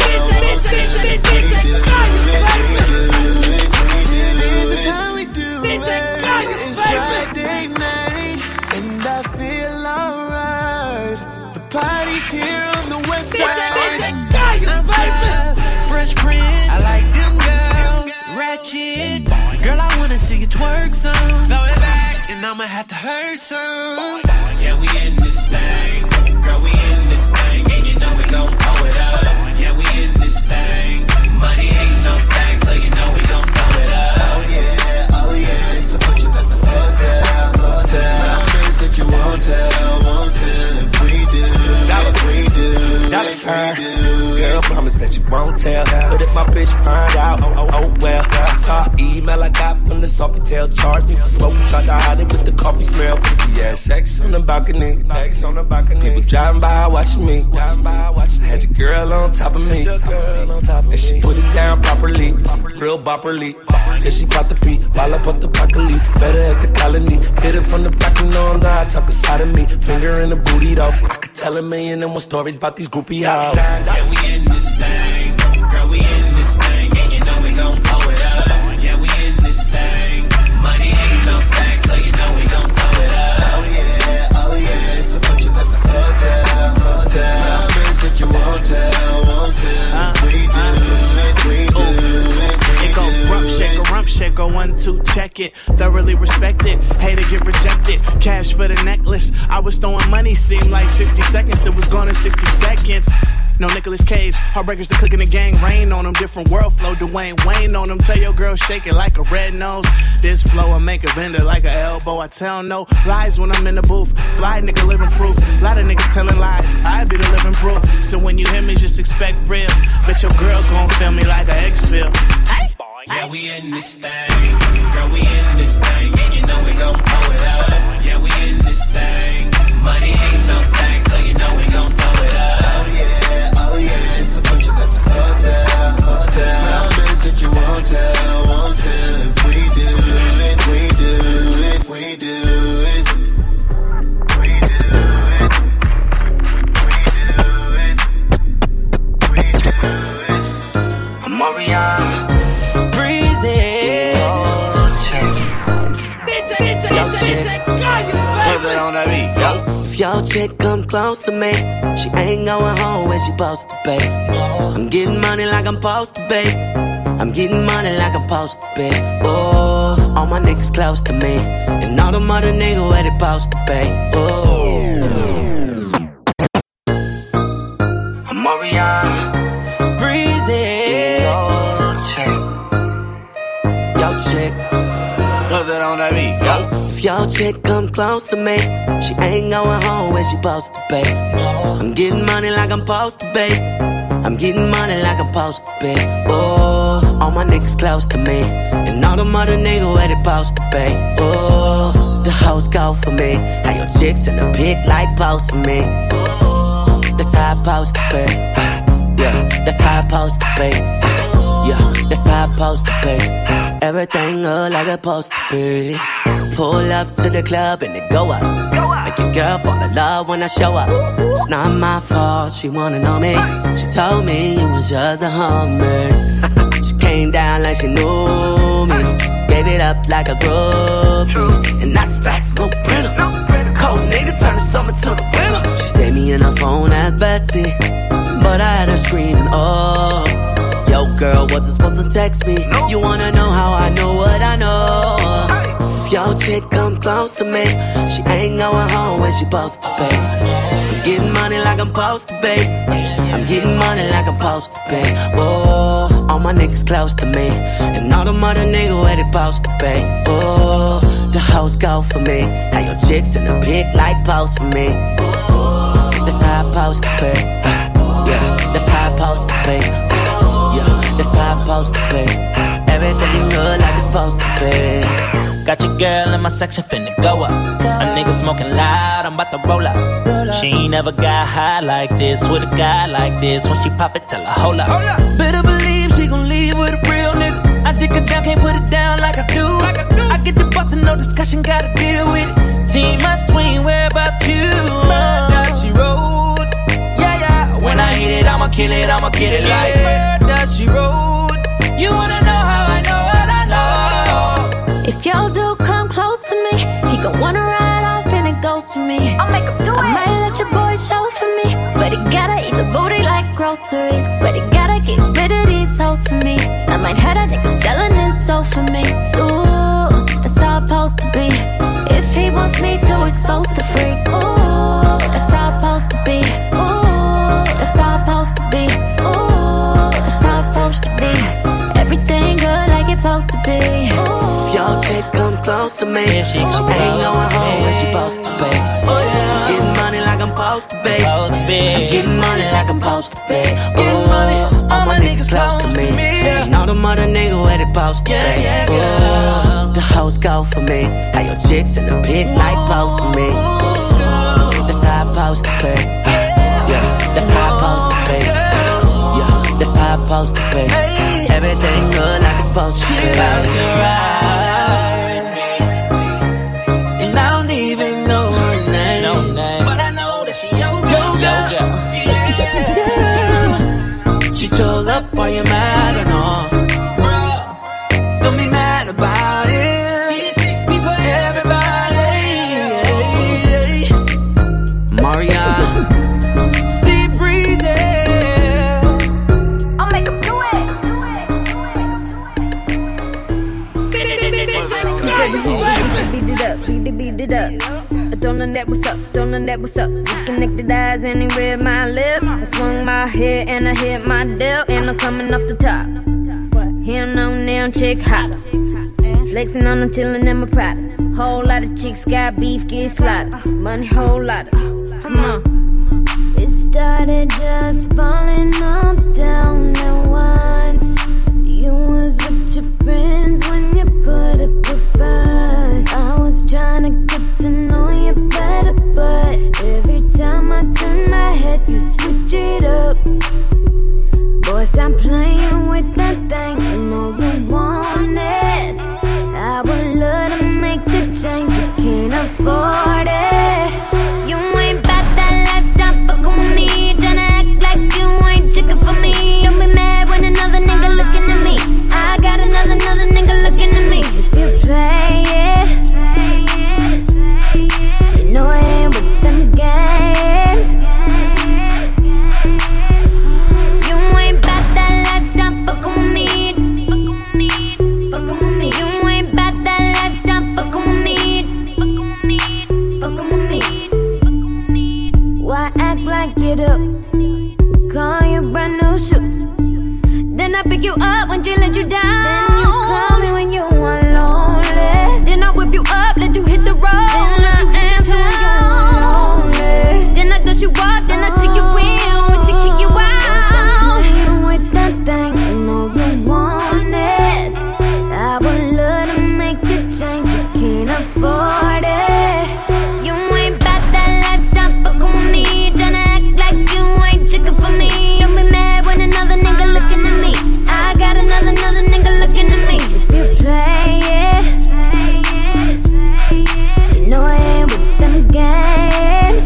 This is how we do it. It's Friday night, and I feel alright. The party's here on the west side. I'm Fresh Prince. I like them girls, ratchet. Girl, I wanna see you twerk some. Throw it back, and I'ma have to hurt some. Yeah, we in this thing. Girl, we in this thing. And you know we gon' blow it up. Yeah, we in this thing. Money ain't no thing, so you know we gon' blow it up. Oh yeah, oh yeah, it's a function at the hotel, hotel. This is your hotel, hotel. If we do, if we do, Dollar sign. Girl, promise that you won't tell. But if my bitch find out, oh, oh, oh well. She saw email I got from the soft tail charged me for smoking. Tried to hide it with the coffee smell. Yeah, sex on the balcony. People driving by watching me. Had your girl on top of me. And she put it down properly. Real bopperly. Yeah, she bought the beat. While up on the broccoli. Better at the colony. Hit it from the back and on the talk inside of me. Finger in the booty though. I could tell a million and one stories about these groupie hoes. Yeah, we in this thing. Girl, we in this thing. And you know we gon' blow it up. Yeah, we in this thing. Money ain't no thing, so you know we gon' blow it up. Oh yeah, oh yeah. So put you at the hotel, hotel. Promise that you won't tell, won't tell. If we do it, we do it. It go rump shaker, rump shaker, one, two, check it. Thoroughly respect it, hate to get rejected. Cash for the necklace, I was throwing money, seemed like sixty seconds, it was gone in sixty seconds. No Nicolas Cage, heartbreakers, the click in the gang, rain on them, different world flow, Dwayne Wayne on them. Tell your girl shake it like a red nose. This flow will make a bender like an elbow. I tell no lies when I'm in the booth. Fly nigga living proof. Lot of niggas telling lies. I be the living proof. So when you hear me, just expect real. Bet your girl gon' feel me like an X-Bill. Yeah, we in this thing. Girl, we in this thing. And you know we gon' blow it up. Yeah, we in this thing. Money ain't no thing, so you know we gon' blow it up. Oh yeah, oh yeah. So put you at the hotel, hotel. Promise that you won't tell, won't tell. If we do it, we do it, we do it. We do it. We do it. We do it. I'm Marianne. If your chick come close to me, she ain't going home when she supposed to be. I'm getting money like I'm supposed to be. I'm getting money like I'm supposed to be. Oh, all my niggas close to me, and all them other niggas where they supposed to be. Oh, I'm Marianne, breezy. Yo, chick, yo, chick. What's that on that beat, yo? If your chick come close to me, she ain't going home when she supposed to be. I'm getting money like I'm supposed to be. I'm getting money like I'm supposed to be. Oh, all my niggas close to me, and all them other niggas where they supposed to be. Oh, the hoes go for me. How your chicks in the pit like post for me. Oh, that's how I supposed to be. Yeah, that's how I supposed to be. Yeah, that's how I supposed to be. Everything look like it's supposed to be. Pull up to the club and it go up. Make your girl fall in love when I show up. It's not my fault, she wanna know me. She told me you was just a hummer. She came down like she knew me. Gave it up like a groupie. And that's facts, no printer. Cold nigga turn the summer to the winter. She saved me in her phone at bestie, but I had her screaming, oh. Yo, girl, wasn't supposed to text me. You wanna know how I know what I know? If your chick come close to me, she ain't going home when she supposed to be. I'm getting money like I'm supposed to be. I'm getting money like I'm supposed to be. Oh, all my niggas close to me, and all them other niggas where they supposed to be. Oh, the hoes go for me. How your chicks in the pit like post for me. Oh, that's how I supposed to be. Yeah, that's how I supposed to be. Yeah, that's how I'm supposed to be. Everything good like it's supposed to be. Got your girl in my section finna go up. A nigga smoking loud, I'm about to roll up. She ain't never got high like this with a guy like this. When she pop it, tell her hold up. Better believe she gon' leave with a real nigga. I dick her down, can't put it down like I do. I get the bustin', no discussion, gotta deal with it. Team, I swing, where about you? Murder, she rode. Yeah, yeah. When I hit it, I'ma kill it, I'ma get it like Murder, she rode. You wanna know how I know what I know? If your dude come close to me, he gon' wanna ride off and it goes for me. I'll make him do I it. I might let your boy show for me, but he gotta eat the booty like groceries. But he gotta get rid of these hoes for me. I might have a nigga selling his soul for me. Ooh, that's how I'm supposed to be. If he wants me to expose the freak, ooh, that's how I'm supposed to be. Ooh, that's how I'm supposed to be. Ooh, that's how I'm supposed to be. Everything good like it's supposed to be. Ooh. If your chick come close to me, she, she ain't going home when she supposed to be. Oh yeah, getting money like I'm supposed to be. I'm getting money like I'm supposed to be. Ooh, all my niggas close to me, and all them other niggas where they supposed to be. Ooh, the the hoes go for me. How your chicks in the pit like pose for me. That's how I supposed to be. Yeah, that's how I supposed to be. Yeah, that's how I supposed to be. Everything good like it's supposed to be. She about to ride me, and I don't even know her name. No name, but I know that she your girl. Yeah. She chose up, are you mad or no? Don't be mad about it. He shakes me for everybody. Marion, see breezy. I'll make him do it. Beat it up, beat it, beat it up. Don't know that what's up, don't know that what's up. We connected eyes anywhere my lip. I swung my head and I hit my dip, and I'm coming off the top. Here no damn chick hotter. Flexing on them, chillin' in my Prada. Whole lot of chicks got beef, get slaughtered. Money, whole lot of. Come on. It started just falling all down at once. You was with your friends when you put up a fight. I was trying to get to know you better, but every time I turn my head, you switch it up. Boy, stop playing with that thing. I know you want it. I would love to make a change. You can't afford it. You ain't bout that lifestyle, fuckin' with me. Tryna act like you ain't chicken for me. Don't be mad when another nigga looking at me. I got another, another nigga looking at me. You play it. You know I ain't with them games. You ain't bout that lifestyle, fuckin' with me. Fuckin' with me. You ain't bout that lifestyle, fuckin' with me. Fuckin' with me. Why act like it up? Call you brand new shoes. Then I pick you up when she let you down. Then you call me when you want lonely. Then I whip you up, let you hit the road. Then let you answer when you lonely. Then I dust you up, then I take you in when she kick you out. Stop playing with that thing, I know you want it. I would love to make a change, you can't afford it. You ain't bout that lifestyle, fuckin' with me. Tryna act like you ain't chicken for me. Don't be mad when another nigga looking at me. I got another, another nigga looking at me. You play it. You know I ain't with them games.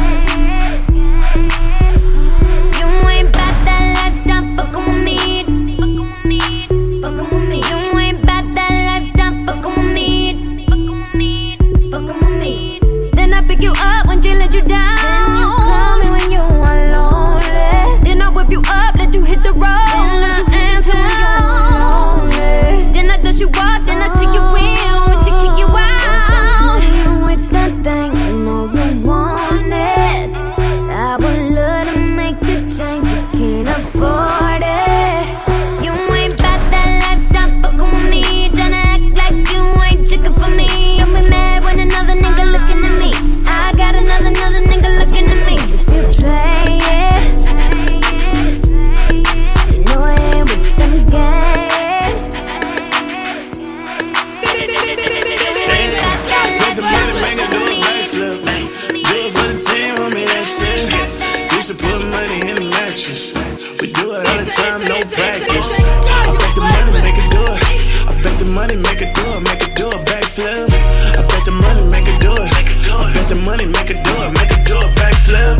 You ain't bout that lifestyle, fuckin' with me. Fuckin' with me. You ain't bout that lifestyle, fuckin' with me. Fuckin' with me. Then I pick you up when she let you down. Then you call me when you want lonely. Then I whip you up, let you hit the road. Then let you answer when you lonely. Then I dust you up, then I take you in when she kick you out. Stop playing with that thing, I know you want it. I would love to make a change, you can't afford it. You ain't bout that lifestyle, fuckin' with me. Tryna act like you ain't chicken for me. Don't be mad when another nigga looking at me. I got another, another nigga looking at me. You play it. You know I ain't with them games. Make the money, make it do a backflip. Do it for the team, homie, that's it. Used to put money in the mattress. We do it all the time, no practice. I bet the money, make it do it. I bet the money, make it do it, make it do a backflip. I bet the money, make it do it. I bet the money, make it do it, make it do a backflip.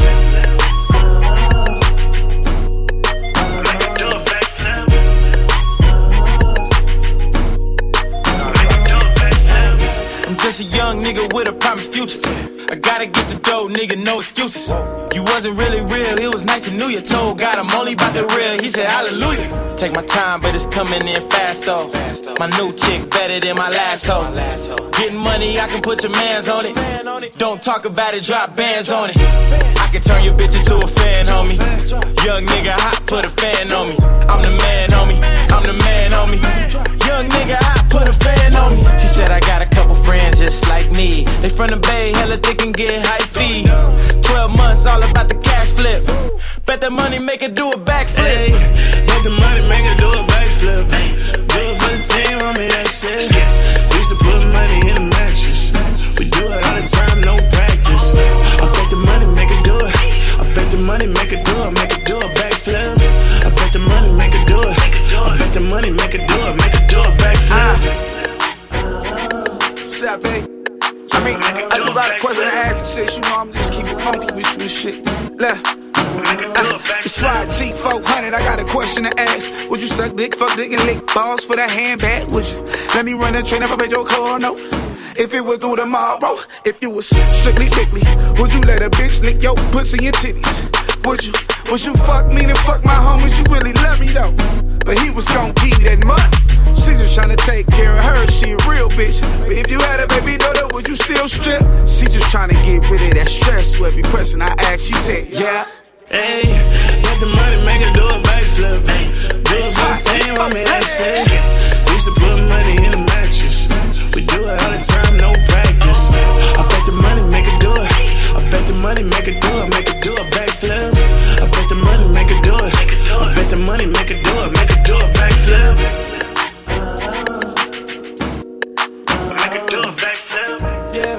I'm just a young nigga with a promised future. I gotta get the dough, nigga, no excuses. You wasn't really real, it was nice to know you. Told God I'm only about the real, he said hallelujah. Take my time, but it's coming in fast though. My new chick better than my last hoe. Getting money, I can put your mans on it. Don't talk about it, drop bands on it. I can turn your bitch into a fan, homie. Young nigga hot, put a fan on me. I'm the man, homie. I'm the man, homie. Young nigga hot, put a fan on me. She said I got a couple friends just like me. They from the Bay, hella thick and get high fee. Twelve months, all about the cash flip. Bet that money make her do a backflip. Hey, make the money, make her do a backflip. Do it for the team, homie, that's it. Used to put Yeah, babe. I mean, I do got a question to ask you, shit. You know, I'm just keep it funky with you and shit. Left. Uh, it's why G four hundred, I got a question to ask. Would you suck dick, fuck dick, and lick balls for that handbag? Would you let me run a train if I paid your car? No. If it was through tomorrow, if you was strictly dickly, would you let a bitch lick your pussy and titties? Would you, would you fuck me and fuck my homies? You really love me though. But he was gon' give you that money. She just tryna take care of her, she a real bitch. But if you had a baby daughter, would you still strip? She just tryna get rid of that stress. So every question I asked, she said, yeah. Hey, let the money make her do a backflip. Do it for the team, want me that shit. Used to put money in the mattress. We do it all the time, no practice. I bet the money make her do it. I bet the money make her do it, make her do a backflip. I bet the money make her do it. I bet the money make her do it, make her do a backflip. Make her do a backflip. Yeah.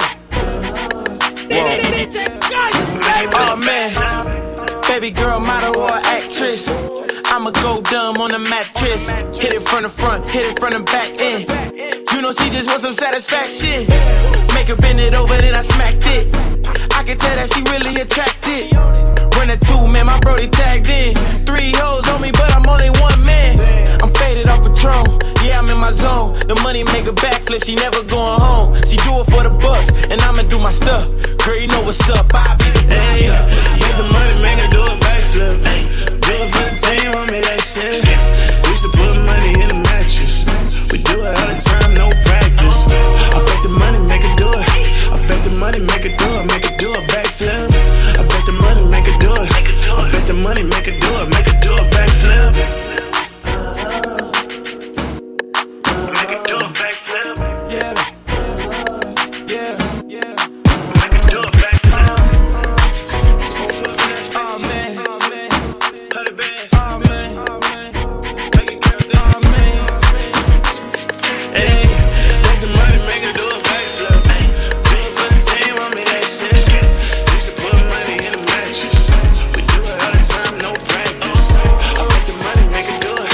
Whoa. Oh man. Baby girl, model or actress. I'ma go dumb on the mattress. Hit it from the front, hit it from the back end. You know she just wants some satisfaction. Make her bend it over, then I smacked it. I can tell that she really attracted. Run a two, man, my brody tagged in. Three hoes on me, but I'm only one man. I'm faded off Patron, yeah, I'm in my zone. The money make her backflip, she never going home. She do it for the bucks, and I'ma do my stuff. Girl, you know what's up, I be the hey, make the money make her do a backflip. Do it for the team, want me that shit. Used to put money in the mattress. We do it all the time, no practice. I bet the money make her do it. I bet the money make her do it, make her do a backflip. I bet the money make her do it. I bet the money make her do it, make her do a backflip. Make her do a backflip. Yeah. Yeah. Yeah. Make her do a backflip. Oh man. Oh man. Cut it back. Oh man. Oh man. Make it girl do Oh man. Hey, let the money make her do a backflip. Do it for the team, want me that shit. Used to put money in the mattress. We do it all the time, no practice. I bet the money make her do it.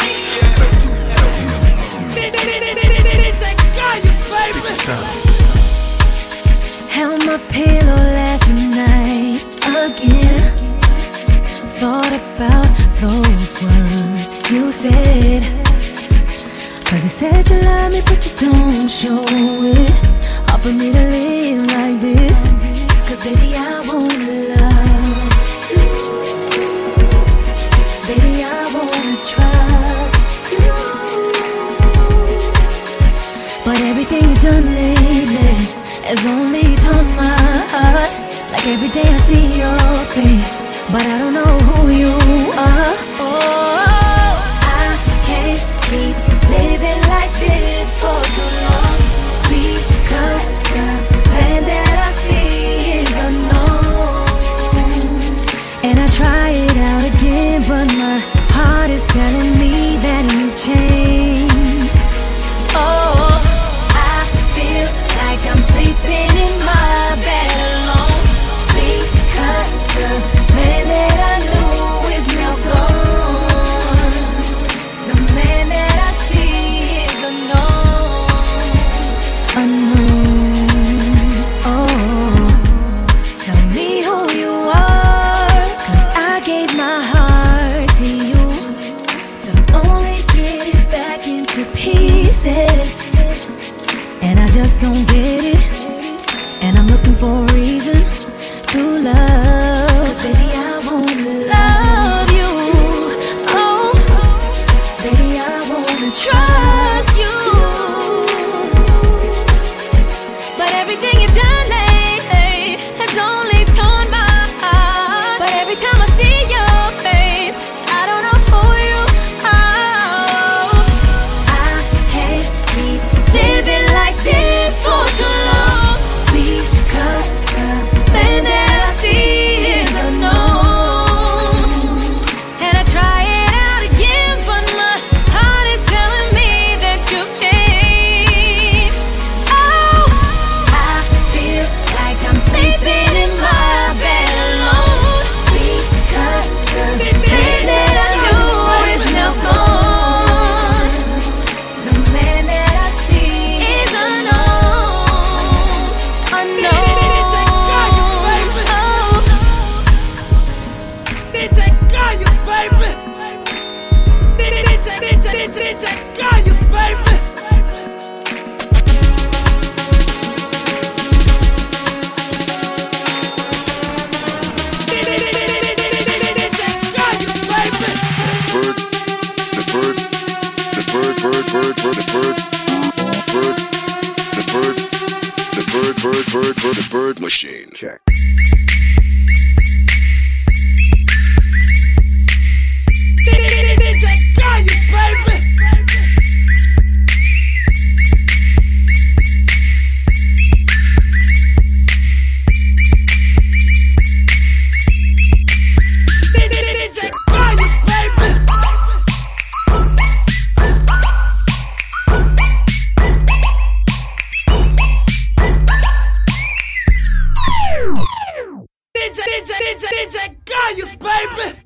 Held my pillow last night again. Thought about those words you said. Cause you said you love me but you don't show it. Hard for me to live like this. Cause baby I wanna love you. Baby I wanna trust you. But everything you've done lately has only torn my heart. Like every day I see your face, but I don't know who you are. Oh, I can't keep living like this for too long. Because the man that I see is unknown. And I try it out again, but my heart is telling me that you've changed. Oh, I feel like I'm sleeping in my bed alone. Because the man that I knew is now gone. The man that I see is unknown. Unknown. Oh, tell me who you are. Cause I gave my heart to you to only get it back into pieces. And I just don't get it. And I'm looking for a reason to love. Cause baby I wanna love you. Oh, baby I wanna trust you. But everything you've done lately has only torn my heart. But every time I see your face, I don't know who you are. I can't keep living like this for too long. bird, the bird, the bird, bird, bird, bird, the bird machine. Check. D J Gaius, baby. D J, D J, D J, D J Gaius, baby!